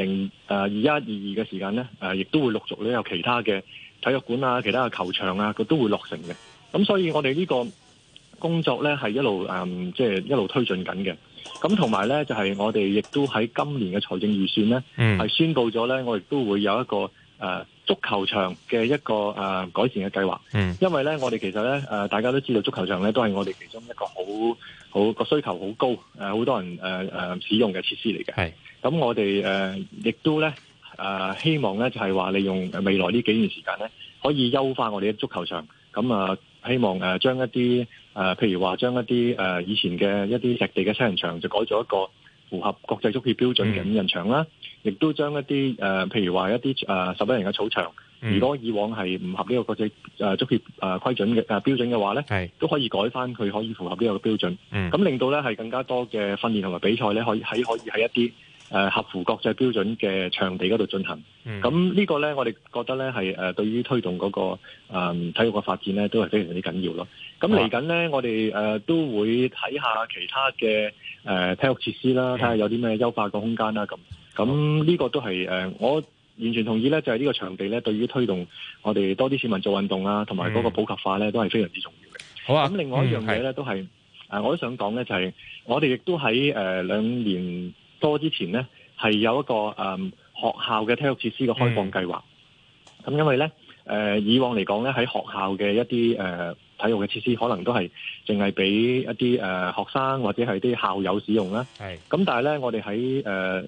2021、22嘅時間咧，亦都會陸續咧有其他嘅體育館啊、其他嘅球場啊，佢都會落成嘅。咁所以我哋呢個工作咧係一路即係一路推進緊嘅。咁同埋咧就係我哋亦都喺今年嘅財政預算咧，係宣布咗咧，我亦都會有一個足球場嘅一個改善嘅計劃。因為咧我哋其實咧大家都知道足球場咧都係我哋其中一個好個需求好高好多人使用嘅設施嚟嘅。係咁我哋亦都咧希望咧就係話利用未來呢幾年時間咧，可以優化我哋嘅足球場。咁希望將一啲譬如話將一啲以前嘅一啲石地嘅七人場就改咗一個符合國際足協標準嘅5人場啦，亦都將一啲譬如話一啲11人嘅草場，如果以往係唔合呢個國際足協規準嘅標準嘅話咧，都可以改翻佢可以符合呢個標準。咁令到咧係更加多嘅訓練同埋比賽咧，可以喺一啲合乎國際標準嘅場地嗰度進行。咁呢個咧，我哋覺得咧係對於推動嗰個體育嘅發展咧，都係非常之緊要咯。咁嚟緊咧，我哋都會睇下其他嘅體育設施啦，睇下有啲咩優化嘅空間啦。咁呢個都係我完全同意咧，就係呢個場地咧，對於推動我哋多啲市民做運動啊，同埋嗰個普及化咧，都係非常之重要嘅。好啊。咁另外一樣嘢咧，都係我都想講咧，就係我哋亦都喺2年多之前咧，係有一個學校嘅體育設施嘅開放計劃。咁因為咧以往嚟講咧，喺學校嘅一啲體育嘅設施，可能都係淨係俾一啲學生或者係啲校友使用啦。咁但係咧，我哋喺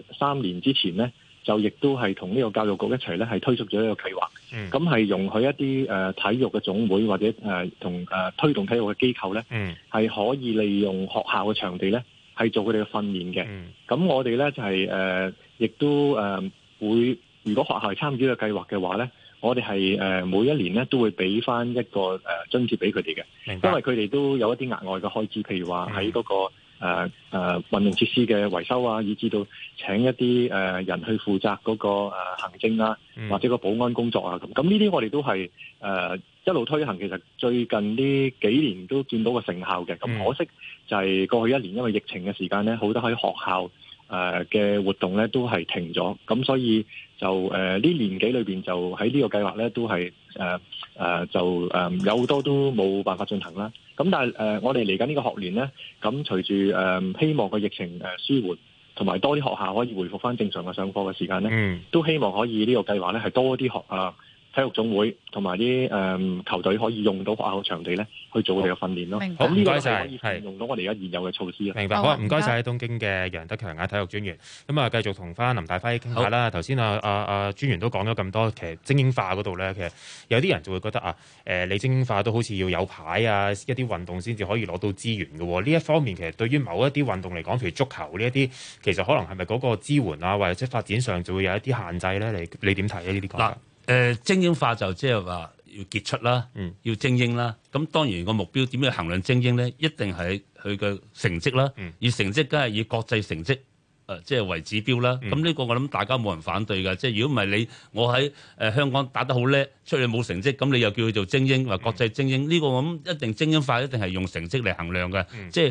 3年之前咧，就亦都係同呢個教育局一齊咧，係推出咗一個計劃。咁係容許一啲體育嘅總會或者同推動體育嘅機構咧，係可以利用學校嘅場地咧，係做佢哋嘅訓練嘅。咁我哋咧就係亦都會，如果學校係參與呢個計劃嘅話咧，我哋係每一年咧都會俾翻一個津貼俾佢哋嘅。因為佢哋都有一啲額外嘅開支，譬如話喺嗰個運動設施嘅維修啊，以至到請一啲人去負責嗰個行政啊，或者個保安工作啊咁。咁呢啲我哋都係一路推行，其實最近呢幾年都見到個成效嘅。咁可惜就係過去1年因為疫情嘅時間咧，好多喺學校嘅活動咧都係停咗，咁所以就呢年幾裏邊就喺呢個計劃咧都係有好多都冇辦法進行啦。咁但係我哋嚟緊呢個學年咧，咁隨住希望個疫情舒緩，同埋多啲學校可以回復翻正常嘅上課嘅時間咧，都希望可以呢個計劃咧係多啲體育總會同埋啲球隊可以用到學校嘅場地咧去做佢哋嘅訓練咯。 好，唔該晒， 可以用到我哋而家現有嘅措施。 明白，好啊，唔該晒東京嘅楊德強體育專員。咁繼續同翻林大輝傾下啦。頭先專員都講咗咁多，其實精英化嗰度咧，其實有啲人就會覺得你精英化都好似要有牌啊，一啲運動先至可以攞到資源嘅喎。呢一方面其實對於某一啲運動嚟講，譬如足球呢一啲，其實可能係咪嗰個支援啊，或者發展上就會有一啲限制咧？你點睇啊？呢啲講法？ 精英化就即係話要傑出啦，要精英啦。咁當然個目標點樣衡量精英咧？一定係佢嘅成績啦。而成績梗係以國際成績即係為指標啦。咁呢個我諗大家冇人反對㗎。即係如果唔係我喺香港打得好叻，出去冇成績，咁你又叫佢做精英或國際精英？呢個我諗一定精英化一定係用成績嚟衡量嘅。即係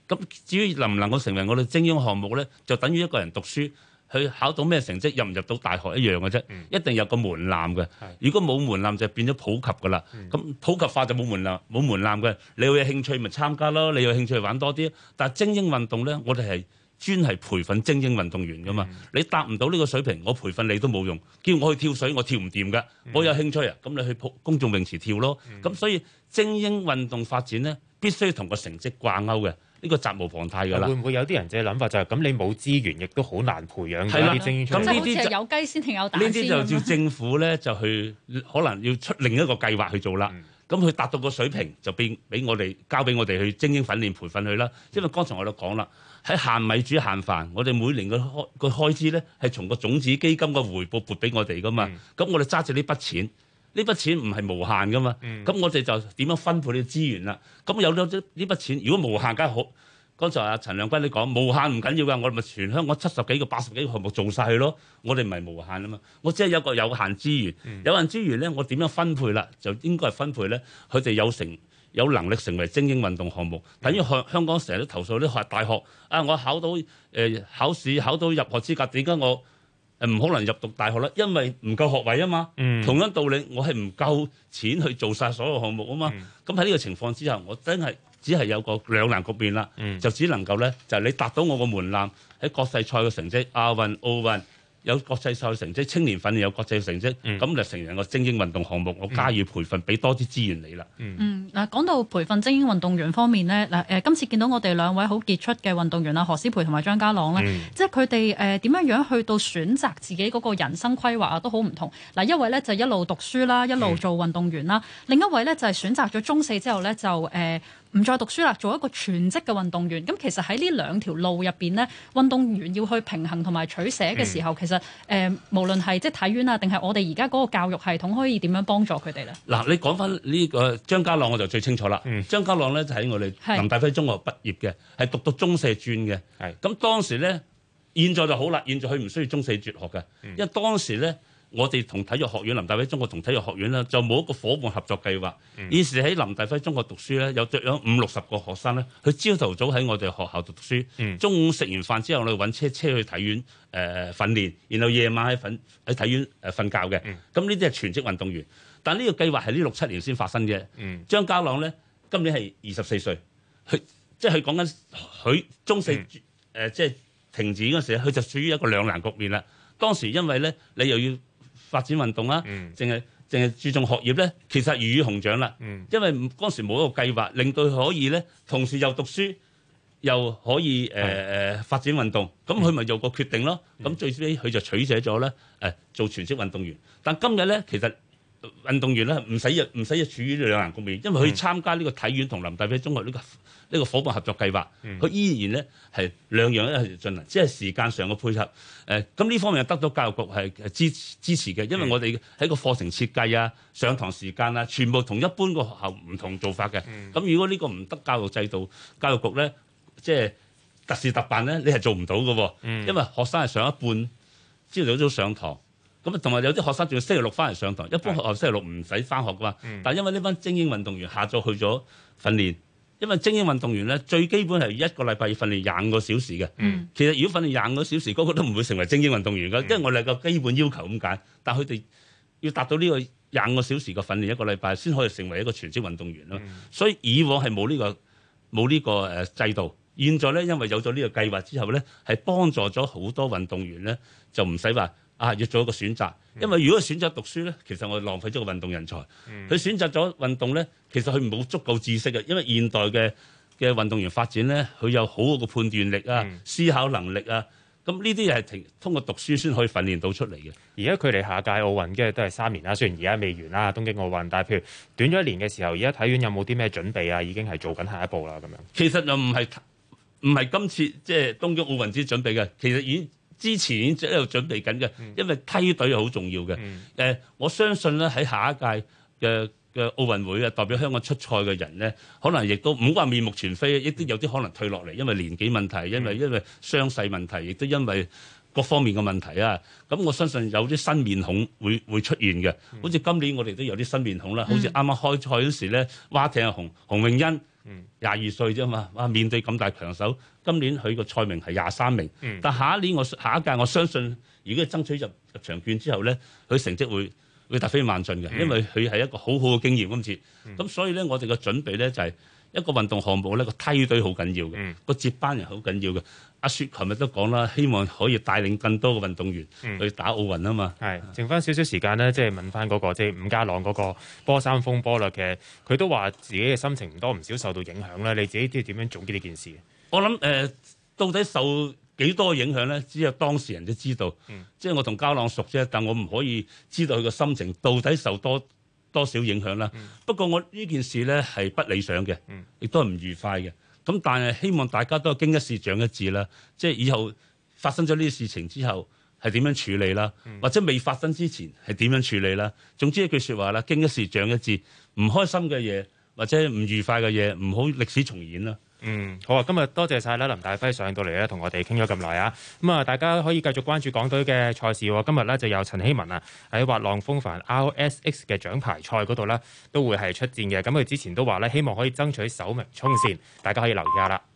咁至於能唔能夠成為我哋精英項目咧，就等於一個人讀書。佢考到咩成績，入唔入到大學一樣嘅啫，一定有個門檻嘅。如果冇門檻就變咗普及㗎啦。咁普及化就冇門檻嘅。你有興趣咪參加咯，你有興趣玩多啲。但係精英運動咧，我哋係專係培訓精英運動員㗎嘛。你達唔到呢個水平，我培訓你都冇用。叫我去跳水，我跳唔掂㗎。我有興趣啊，咁你去公眾泳池跳咯。咁所以精英運動發展咧，必須同個成績掛鈎嘅。呢個責無旁貸㗎啦。會唔會有啲人嘅諗法就係咁？你冇資源，亦都好難培養係啦啲精英出嚟。 咁呢啲就有雞先定有蛋先。 呢啲就叫政府咧，就去可能要出另一個計劃去做啦。咁佢達到個水平，就俾我哋交俾我哋去精英訓練培訓佢啦。因為剛才我都講啦，喺限米煮限飯，我哋每年個開支咧係從個種子基金嘅回報撥俾我哋㗎嘛。咁我哋揸住呢筆錢。呢筆錢唔係無限噶嘛，咁我哋就點樣分配呢啲資源啦？咁有咗呢筆錢，如果無限梗係好。剛才阿陳亮君你講無限唔緊要㗎，我哋咪全香港70幾個、80幾個項目做晒佢咯。我哋唔係無限啊嘛，我只係有個有限資源，有限資源咧，我點樣分配啦？就應該係分配咧，佢哋有能力成為精英運動項目。等於香港成日都投訴啲大學啊，我考到考試考到入學資格，點解我唔可能入讀大學咧？因為唔夠學位啊嘛。同樣道理，我係唔夠錢去做晒所有項目啊嘛。咁喺呢個情況之下，我真係只係有個兩難局面啦。就只能夠咧，就係你達到我個門檻，喺國際賽嘅成績，亞運、奧運有國際賽嘅成績，青年訓練有國際嘅成績，咁就成為個精英運動項目，我加以培訓，俾多啲資源你啦。 嗱，講到培訓精英運動員方面咧，今次見到我哋兩位好傑出嘅運動員啊，何詩蓓同埋張家朗咧，即係佢哋點樣去到選擇自己嗰個人生規劃啊，都好唔同。嗱，一位咧就一路讀書啦，一路做運動員啦，另一位咧就係選擇咗中四之後咧就唔再讀書啦，做一個全職嘅運動員。咁其實喺呢兩條路入邊呢，運動員要去平衡同埋取捨嘅時候，其實無論係即係體院啊，定係我哋而家嗰個教育系統，可以點樣幫助佢哋咧？嗱， 你講翻呢個張家朗，我就最清楚啦。張家朗咧就喺我哋林大輝中學畢業嘅，係讀到中四專嘅。咁當時咧，現在就好啦，現在佢唔需要中四輟學嘅，因為當時咧。我哋同體育學院林大輝中學同體育學院咧就冇一個伙伴合作計劃。現時喺林大輝中學讀書咧，有50-60個學生咧，佢朝頭早喺我哋學校讀書，中午食完飯之後，我哋揾車去體院訓練，然後夜晚喺體院瞓覺嘅。咁呢啲係全職運動員，但呢個計劃係呢6-7年先發生嘅。張家朗咧今年係24歲，佢即係佢講緊佢中四即係停止嗰時，佢就處於一個兩難局面啦。當時因為咧你又要發展運動啦，淨係注重學業咧，其實魚與熊掌啦。因為嗰時冇一個計劃，令到佢可以咧同時又讀書又可以發展運動，咁佢咪有個決定咯。咁最尾佢就取捨咗咧做全職運動員。但今日咧其實運動員咧唔使處於兩難局面，因為佢參加呢個體院同林大輝中學呢個伙伴合作計劃，佢依然咧係兩樣一齊進行，只係時間上嘅配合。咁呢方面得到教育局係支持嘅，因為我哋喺個課程設計啊、上堂時間啊，全部同一般個學校唔同做法嘅。咁如果呢個唔得教育制度，教育局咧即係特事特辦咧，你係做唔到嘅。因為學生係上一半朝早上堂。咁同埋有啲學生仲要星期六翻嚟上堂，一般學校星期六唔使翻學噶嘛。但係因為呢班精英運動員下晝去咗訓練，因為精英運動員咧最基本係一個禮拜要訓練25個小時嘅。其實如果訓練25個小時，嗰個都唔會成為精英運動員㗎，因為我哋個基本要求咁解。但係佢哋要達到呢個25個小時嘅訓練一個禮拜，先可以成為一個全職運動員咯。所以以往係冇呢個制度，現在咧因為有咗呢個計劃之後咧，係幫助咗好多運動員咧，就唔使話。要做一個選擇，因為如果選擇讀書咧，其實我哋浪費咗個運動人才。佢選擇咗運動咧，其實佢冇足夠知識嘅，因為現代嘅運動員發展咧，佢有好好嘅判斷力啊、思考能力啊，咁呢啲係通過讀書先可以訓練到出嚟嘅。 而家距離下屆奧運嘅都係3年啦，雖然而家未完啦，東京奧運，但係譬如短咗1年嘅時候，而家體院有冇啲咩準備啊？已經係做緊下一步啦，咁樣。 其實又唔係今次即係東京奧運之準備嘅，其實已經。之前已經喺度準備緊嘅，因為梯隊係好重要嘅。我相信咧喺下一屆嘅奧運會啊，代表香港出賽嘅人咧，可能亦都唔好話面目全非，亦都有啲可能退落嚟，因為年紀問題，因為傷勢問題，亦都因為各方面嘅問題啊。咁我相信有啲新面孔會出現嘅，好似今年我哋都有啲新面孔啦，好似啱啱開賽嗰時咧，蛙艇洪詠欣。 22歲啫嘛，哇！面對咁大強手，今年佢個賽名係23名，但下一屆我相信，如果佢爭取入場券之後咧，佢成績會突飛猛進嘅，因為佢係一個好好嘅經驗今次。咁所以咧，我哋嘅準備咧就係一個運動項目咧，個梯隊好緊要嘅，個接班人好緊要嘅。阿雪琴日都講啦，希望可以帶領更多嘅運動員去打奧運啊嘛。 係，剩翻少少時間咧，即係問翻嗰個即係伍家朗嗰個波衫風波啦。其實佢都話自己嘅心情唔多唔少受到影響啦。你自己即係點樣總結呢件事？ 我諗到底受幾多影響咧？只有當事人都知道。即係我同家朗熟啫，但我唔可以知道佢個心情到底受多少影響啦。不過我呢件事咧係不理想嘅，亦都係唔愉快嘅。咁但係希望大家都經一事長一智啦，即係以後發生咗呢啲事情之後係點樣處理啦，或者未發生之前係點樣處理啦。總之一句説話啦，經一事長一智，唔開心嘅嘢或者唔愉快嘅嘢，唔好歷史重演啦。 好啊！今日多謝晒啦，林大輝上到嚟咧，同我哋傾咗咁耐啊！咁啊，大家可以繼續關注港隊嘅賽事喎。今日咧就有陳希文啊喺滑浪風帆 RSX 嘅獎牌賽嗰度咧，都會係出戰嘅。咁佢之前都話咧，希望可以爭取首名衝線，大家可以留意下啦。